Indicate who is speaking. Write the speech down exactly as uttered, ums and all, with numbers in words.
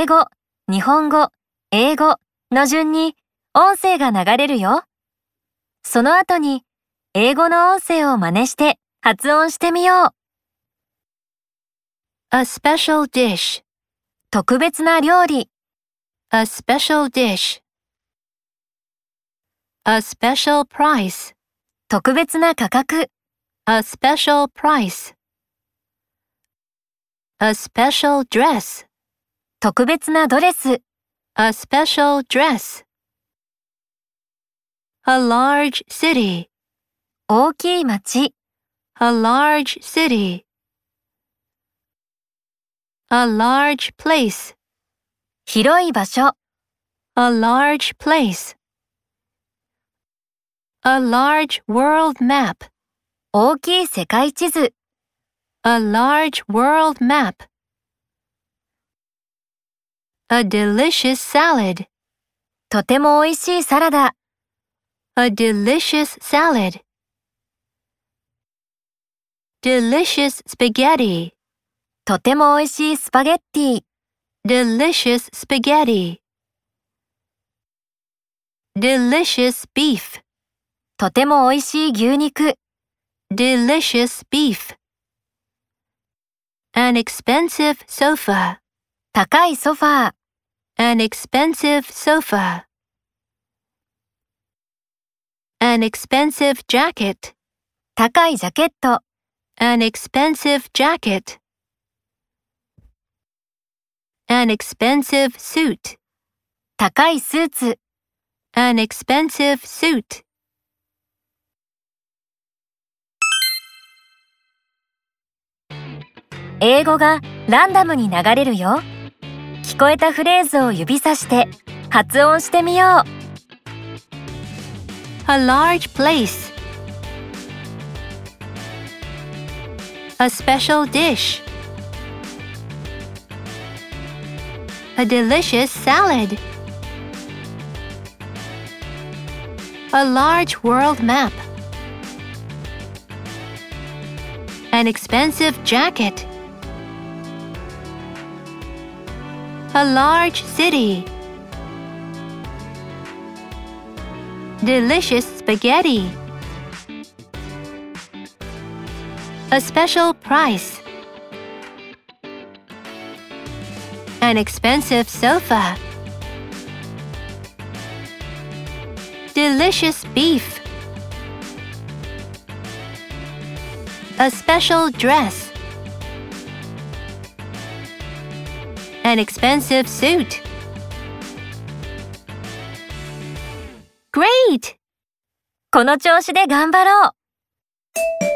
Speaker 1: 英語、日本語、英語の順に音声が流れるよ。その後に英語の音声を真似して発音してみよう。
Speaker 2: A special dish.
Speaker 1: 特別な料理。
Speaker 2: A special dish. A special price.
Speaker 1: 特別な価格。
Speaker 2: A special price. A special dress.
Speaker 1: 特別なドレス。
Speaker 2: A special dress. A large city.
Speaker 1: 大きい町。
Speaker 2: A large city. A large place.
Speaker 1: 広い場所。
Speaker 2: A large place. A large world map.
Speaker 1: 大きい世界地図。
Speaker 2: A large world map. A delicious salad.
Speaker 1: とても美味しいサラダ。
Speaker 2: A delicious salad. Delicious spaghetti.
Speaker 1: とても美味しいスパゲッティ。
Speaker 2: Delicious spaghetti. Delicious beef.
Speaker 1: とても美味しい牛肉。
Speaker 2: Delicious beef. An expensive sofa.
Speaker 1: 高いソファー。
Speaker 2: An expensive sofa. An expensive jacket.
Speaker 1: 高いジャケット。
Speaker 2: An expensive jacket. An expensive suit.
Speaker 1: 高いスーツ。
Speaker 2: An expensive suit.
Speaker 1: 英語がランダムに流れるよ。聞こえたフレーズを指さして発音してみよう。
Speaker 2: A large place. A special dish. A delicious salad. A large world map. An expensive jacket. A large city. Delicious spaghetti. A special price. An expensive sofa. Delicious beef. A special dress. An expensive suit. Great!
Speaker 1: この調子で頑張ろう。